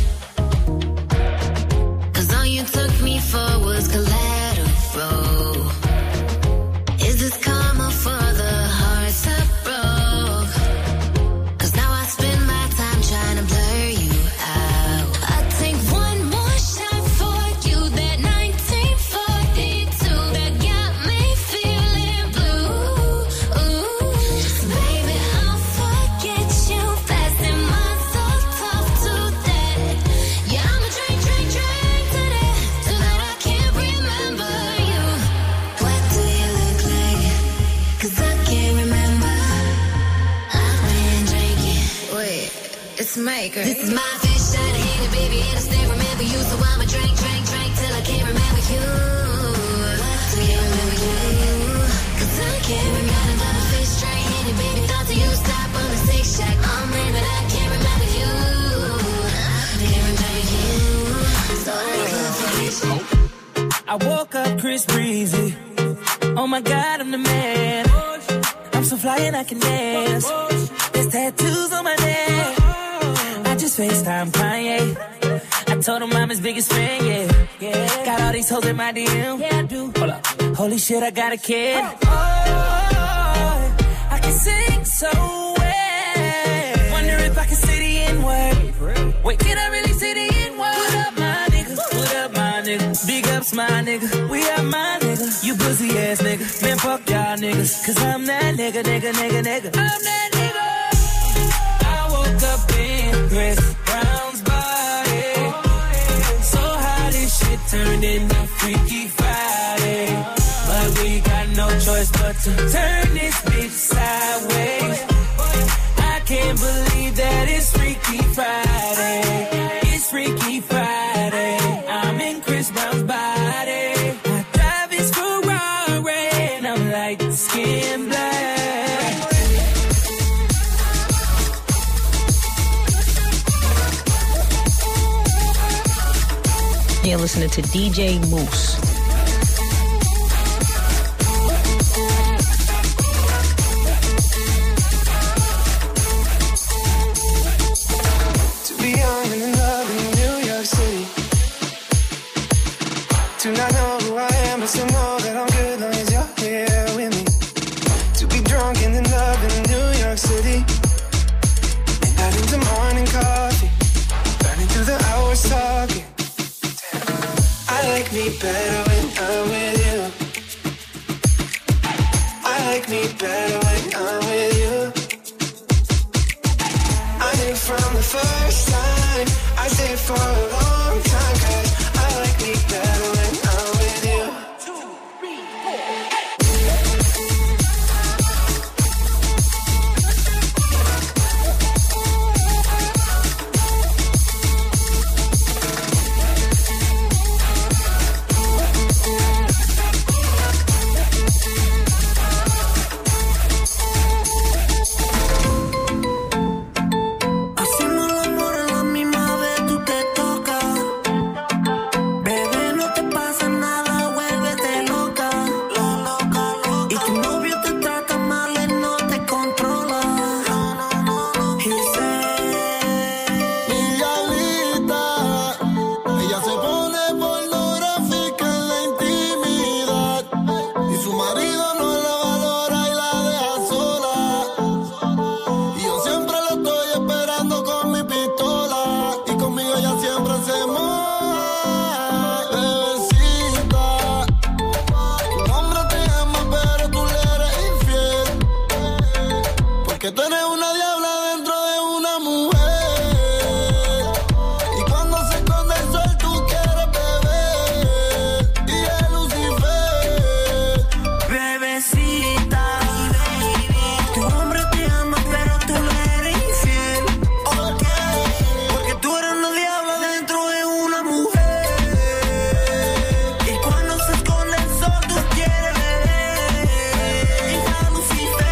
Cause all you took me for was collateral. Is this karma for the hearts I broke? Cause now I spend my time trying to blur you out. I take one more shot for you, that 1942 that got me feeling blue. Just baby, I'll forget you fast and my so tough to that. Yeah, I'ma drink to that, so that I can't remember you. What do you look like? Cause I can't remember. I've been drinking. Wait, it's Mike, right? This is my fish shot of Henny, baby, and I still remember you. So I'ma drink till I can't remember you. What do you remember you? Cause I can't remember the fish straight Henny, baby, thoughts of you stop on the 6-shack. I'm in, but I can't remember you. I can't remember you. So I can't forget you. I woke up Chris Breezy. Oh my God, I'm the man. I'm so fly and I can dance. There's tattoos on my neck. I just FaceTime Kanye. I told him I'm his biggest fan, yeah. Got all these hoes in my DM. Yeah, I do. Hold up. Holy shit, I got a kid. Oh, I can sing so well. Wonder if I can say the N-word. Wait, can I really say the N-word? What up, my nigga? What up, my nigga? Big ups, my nigga. We are my nigga. You pussy ass nigga. Man, fuck y'all niggas. Cause I'm that nigga. I'm that nigga. I woke up in Chris Brown's body. So how this shit turned into Freaky Friday. But we got no choice but to turn this bitch sideways. I can't believe that it's Freaky Friday. It's Freaky Friday. You're listening to DJ Moose. To be young and in love in New York City. To not know who I am, but still know that I'm good long as you're here with me. To be drunk and in love in New York City. Midnight into morning coffee. Burning through the hours talking. I like me better when I'm with you. I like me better when I'm with you. I knew from the first time I stayed for a long time, 'cause I like me better when I'm with you. 2, 3, 4. Que tú eres una diabla dentro de una mujer. Y cuando se esconde el sol tú quieres beber. Y es Lucifer. Bebecita, tu hombre te ama pero tú le eres infiel. ¿Por qué? Porque tú eres una diabla dentro de una mujer. Y cuando se esconde el sol tú quieres beber. Y es Lucifer.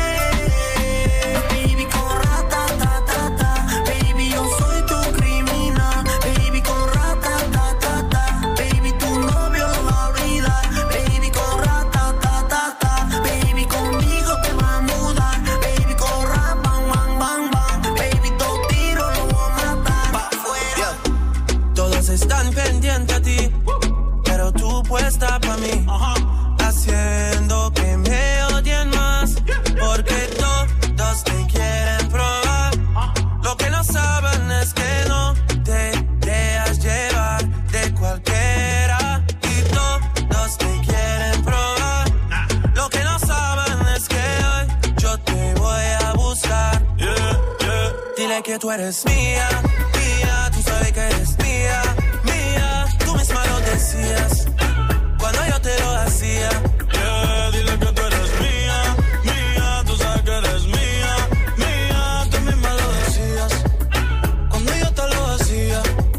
Baby con rata-ta-ta-ta. Baby yo soy tu criminal. Baby con rata-ta-ta-ta. Baby tu novio lo va a olvidar. Baby con rata-ta-ta-ta. Baby conmigo te va a mudar. Baby con rap, bang, bang, bang, bang. Baby dos tiros lo voy a matar. Pa' afuera. Todos están pendientes a ti, pero tú puesta pa' mí, haciendo que me odien más, porque todos te quieren probar. Lo que no saben es que no te dejas llevar de cualquiera, y todos te quieren probar. Lo que no saben es que hoy yo te voy a buscar. Dile que tú eres mía, mía, tú sabes que eres mía, mía. Tú misma lo decías cuando yo te lo hacía. Dile que tú eres mía, mía, tú sabes que eres mía, mía. Tú misma lo decías cuando yo te lo hacía.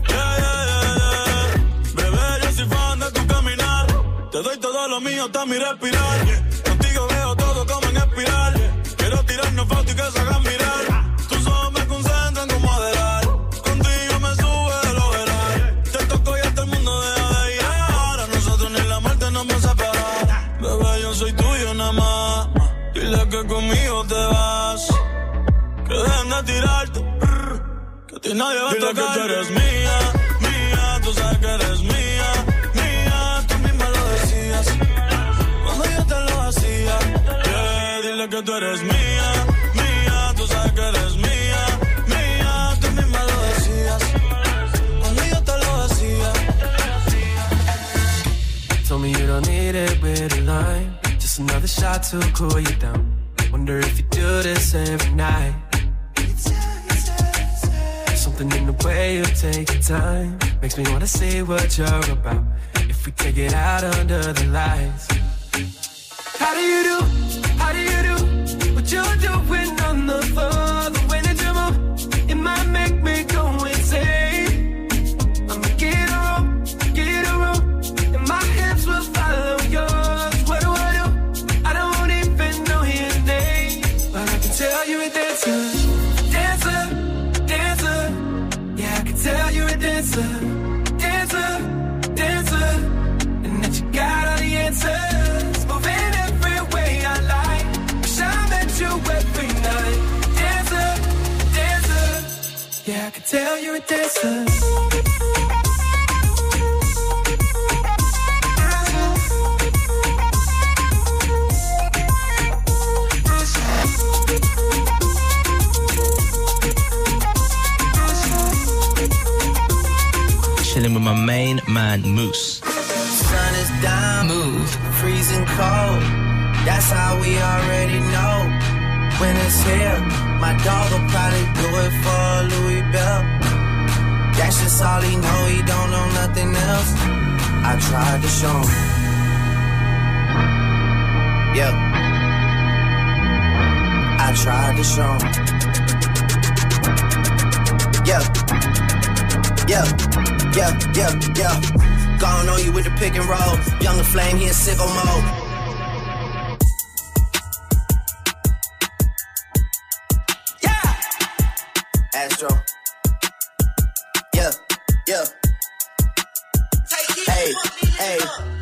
Bebé, yo soy fan de tu caminar. Te doy todo lo mío hasta mi respirar. Contigo veo todo como en espiral. Quiero tirarnos fotos y que se hagan mirar. Tus ojos me concentran como Adderall. Contigo me sube el overall. Te toco y hasta el mundo deja de ir. Ahora nosotros ni la muerte nos va a separar. Bebé, yo soy tuyo nada más. Dile que conmigo te vas. Que dejen de tirarte. Que a ti nadie va a tocar. Dile que tú eres mía, mía. Tú sabes que eres mía, mía. Tú misma lo decías cuando yo te lo hacía. Dile que tú eres mía, mía. Tú sabes que eres mía, mía. Tú misma lo decías cuando yo te lo hacía. Told me you don't need it with a line. Just another shot to cool you down. Wonder if you do this every night. Something in the way you take your time makes me wanna see what you're about. If we take it out under the lights. How do you do? How do you do? What you're doing on the floor, the way that you move, it might make me go insane. I'ma get a rope, and my hands will follow yours. What do? I don't even know your name, but I can tell you're a dancer, dancer, dancer. Yeah, I can tell you're a dancer, dancer, dancer. tell you're a dancer. Chilling with my main man, Moose. Sun is down, move, freezing cold. That's how we already know. When it's here, my dog will probably do it for Louis Bell. That's just all he know, he don't know nothing else. I tried to show him. Yeah. I tried to show him. Yeah. Yeah. Yeah. Gone on you with the pick and roll. Younger flame, he in sicko mode. Astro. Yeah. Hey.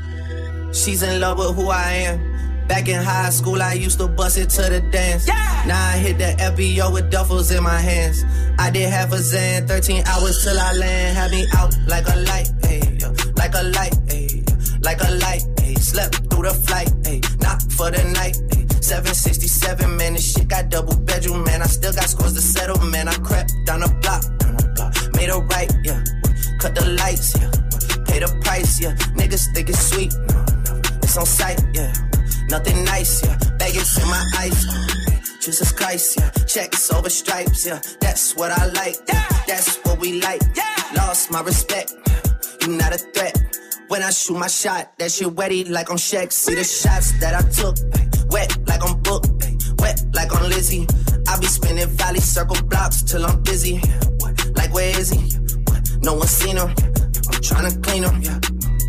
She's in love with who I am. Back in high school, I used to bust it to the dance. Now I hit the FBO with duffels in my hands. I did half a Zan, 13 hours till I land. Had me out like a light, ayy, like a light, ayy, like a light, ayy. Slept through the flight, ayy, not for the night, ayy. 767, man, this shit got double bedroom, man. I still got scores to settle, man. I crept down the block, made a right, yeah. Cut the lights, yeah. Pay the price, yeah. Niggas think it's sweet, no, it's on sight, yeah. Nothing nice, yeah. Baggage in my ice, Jesus Christ, yeah. Checks over stripes, yeah. That's what I like, yeah. That's what we like, yeah. Lost my respect, you not a threat. When I shoot my shot, that shit wetty like on Shaq. See the shots that I took, wet like on Book, wet like on Lizzie. I be spinning valley circle blocks till I'm busy. Like where is he? No one seen him. I'm tryna clean him, yeah.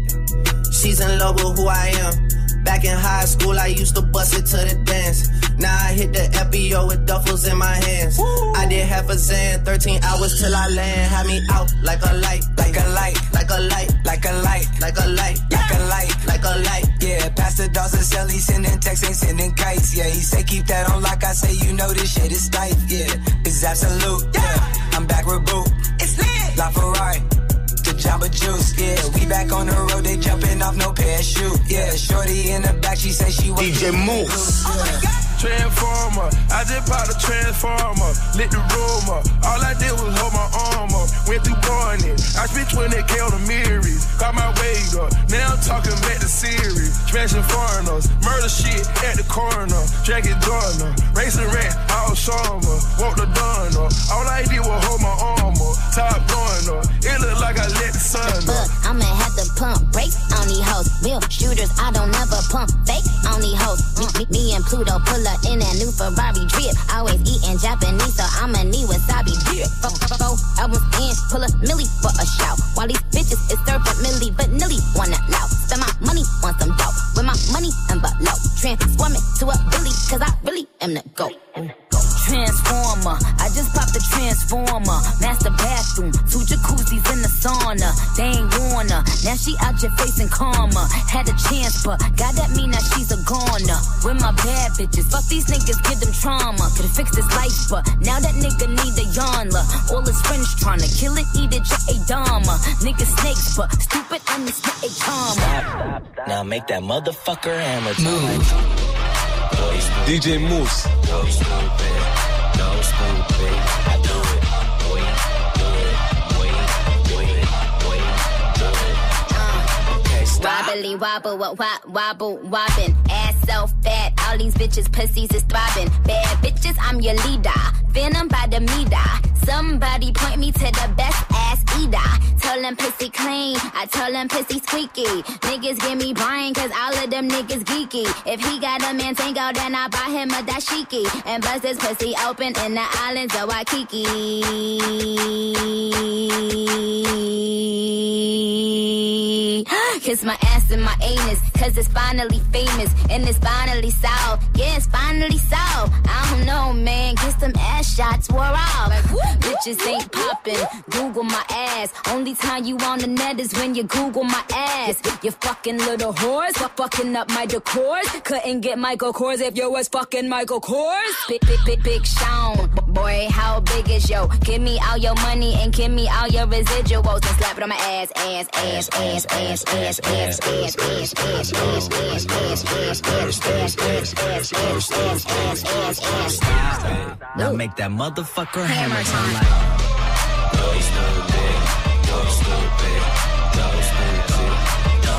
She's in love with who I am. Back in high school, I used to bust it to the dance. Now I hit the FBO with duffels in my hands. Woo. I did half a Zan, 13 hours till I land. Had me out like a light, like a light, like a light, like a light, like a light, like a light, like a light. Yeah, Pastor Dawson sell, he sending texts, ain't sending kites. Yeah, he say keep that on lock. I say you know this shit is tight. Yeah, it's absolute. Yeah, I'm back with Boo. It's lit. La Ferrari. Jamba Juice, yeah, we back on the road, they jumping off no parachute, yeah, shorty in the back, she say she was DJ Moose. Oh my God. Transformer, I just bought a transformer, lit the room up. All I did was hold my arm up, went through Barnett. I spent 20K on the Marys, got my weight up. Now I'm talking back to series, smashing foreigners, murder shit at the corner, Jackie Joyner, racing rat, all summer, walk the dawn up. All I did was hold my arm up, top going up. It look like I let the sun up. Look, I'ma have to pump brakes on these hoes. Real shooters, I don't never pump fake on these hoes. Me and Pluto pull up in that new Ferrari drip. Always eating Japanese, so I'ma need wasabi drip. Four albums in, pull a milli for a shout. While these bitches is serving milli, but nilly wanna loud. Spend my money on some dope, with my money envelope. Transform it to a Billy, cause I really am the GOAT. Transformer, I just popped the transformer. Master bathroom, 2 jacuzzis in the sauna. They ain't wanna, now she out your face in karma. Had a chance, but God that mean that she's a goner. With my bad bitches, fuck these niggas, give them trauma. Could've fixed his life, but now that nigga need a yarnla. All his friends tryna kill it, eat it, just a dharma. Niggas snakes, but stupid, I'm the spit a karma. Stop. Now make that motherfucker hammer time. DJ Moose. Go stupid, I do it. Boy, do it. Okay, stop. Wobbly wobble, wobble, wobbin'. Ass so fat, all these bitches pussies is throbbing. Bad bitches, I'm your leader. Venom by the meter. Somebody point me to the best ass eater. Tell them pussy clean, I tell them pussy squeaky. Niggas give me brain, cause all of them niggas geeky. If he got a Mantango, then I buy him a dashiki. And bust his pussy open in the islands of Waikiki. Kiss my ass and my anus, cause it's finally famous and it's finally solved. Yeah, it's finally solved. I don't know, man, get some ass shots wore off. Like, bitches ain't popping, Google my ass. Only time you on the net is when you Google my ass. You fucking little whores, fucking up my decors. Couldn't get Michael Kors if you was fucking Michael Kors. Big Sean, boy, how big is yo? Give me all your money and give me all your residuals and slap it on my ass. Now make that motherfucker hammer time like go stupid, go stupid, go stupid, go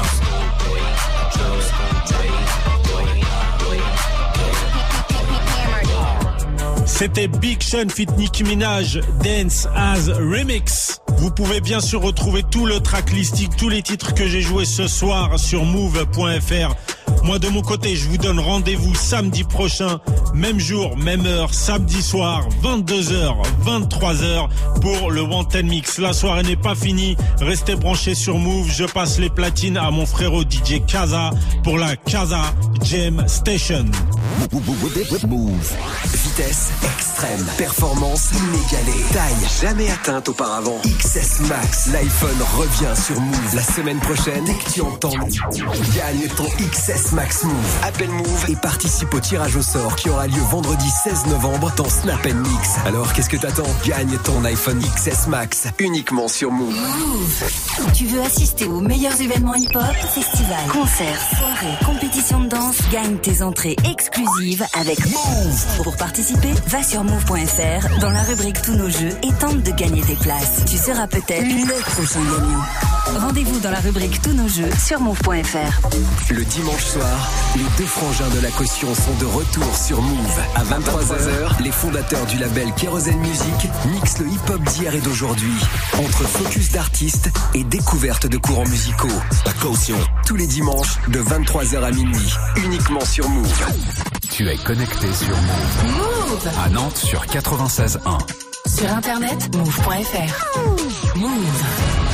stupid, go stupid. C'était Big Sean feat Nicki Minaj, Dance as Remix. Vous pouvez bien sûr retrouver tout le tracklisting, tous les titres que j'ai joués ce soir sur move.fr. Moi de mon côté, je vous donne rendez-vous samedi prochain, même jour, même heure, samedi soir, 22h, 23h pour le Wanted Mix. La soirée n'est pas finie, restez branchés sur Move. Je passe les platines à mon frérot DJ Kaza pour la Kaza Jam Station. Move. Vitesse extrême, performance inégalée, taille jamais atteinte auparavant. XS Max, l'iPhone revient sur Move la semaine prochaine. Dès que tu entends, gagne ton XS Max Move. Appelle Move et participe au tirage au sort qui aura lieu vendredi 16 novembre dans Snap & Mix. Alors qu'est-ce que t'attends? Gagne ton iPhone XS Max uniquement sur Move. Move. Tu veux assister aux meilleurs événements hip-hop, festivals, concerts, soirées, compétitions de danse? Gagne tes entrées exclusives avec Move. Pour participer, va sur move.fr dans la rubrique Tous nos jeux et tente de gagner tes places. Tu seras peut-être le prochain gagnant. Rendez-vous dans la rubrique Tous nos jeux sur move.fr. Le dimanche soir, les deux frangins de la caution sont de retour sur Move. À 23h, les fondateurs du label Kérosène Music mixent le hip-hop d'hier et d'aujourd'hui. Entre focus d'artistes et découverte de courants musicaux. La caution. Tous les dimanches de 23h à minuit. Uniquement sur Move. Tu es connecté sur Move. Move. À Nantes sur 96.1. Sur internet, move.fr. Move.